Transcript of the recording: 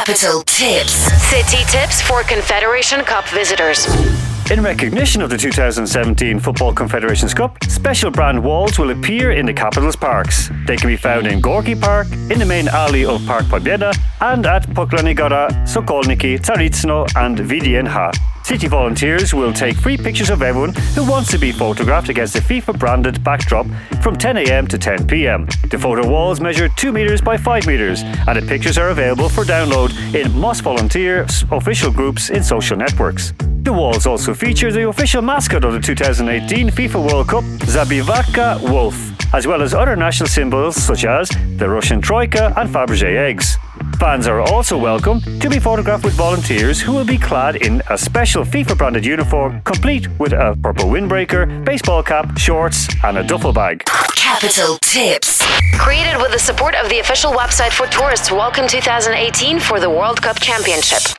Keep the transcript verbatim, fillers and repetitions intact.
Capital Tips. City tips for Confederation Cup visitors. In recognition of the two thousand seventeen Football Confederations Cup, special brand walls will appear in the capital's parks. They can be found in Gorky Park, in the main alley of Park Pobjeda, and at Poklany Gora, Sokolniki, Tsaritsno and Vdnh. City volunteers will take free pictures of everyone who wants to be photographed against a FIFA branded backdrop from ten a.m. to ten p.m. The photo walls measure two metres by five metres, and the pictures are available for download in Moss Volunteer official groups in social networks. The walls also feature the official mascot of the two thousand eighteen FIFA World Cup, Zabivaka Wolf, as well as other national symbols such as the Russian Troika and Fabergé eggs. Fans are also welcome to be photographed with volunteers who will be clad in a special FIFA-branded uniform, complete with a purple windbreaker, baseball cap, shorts and a duffel bag. Capital Tips. Created with the support of the official website for tourists. Welcome two thousand eighteen for the World Cup Championship.